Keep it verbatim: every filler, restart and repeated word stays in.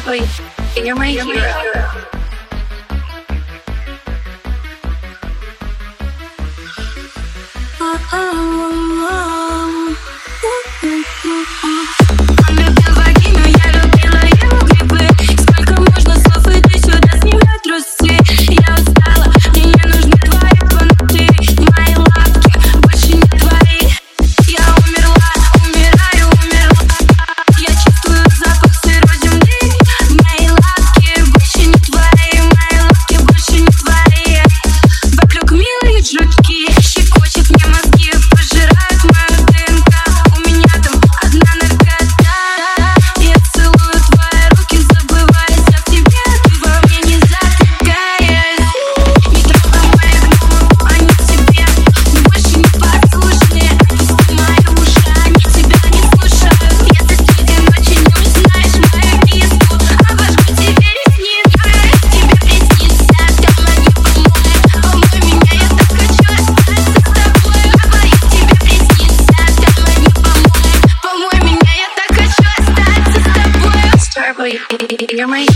Starboy, you're my hero. Любил вагину, я любила его грибы. Сколько можно слов, иди сюда, снимай трусы. Я устала, мне не нужны твои понты. Мои лапки больше не твои. Я умерла, умираю, умерла. Я чувствую запах сырой земли. Мои лапки больше не твои. Мои лапки больше не твои. Вокруг милые жутки, щекочет мне мозги, пожирают мою ДНК. У меня там одна наркота. Я целую твои руки, забываясь о тебе. Ты во мне не затыкаясь. Не трогай моих гномов, они тебе больше не послушны. Отпусти мои уши, они тебя не слушают. Если среди ночи не узнаешь мою киску, обожгу тебе ресницы. Тебе приснится, давно не помой. Помой меня, я так хочу остаться с тобой. Говорю, тебе приснится, давно не помой. Помой меня, я так хочу остаться с тобой. Starboy, you're my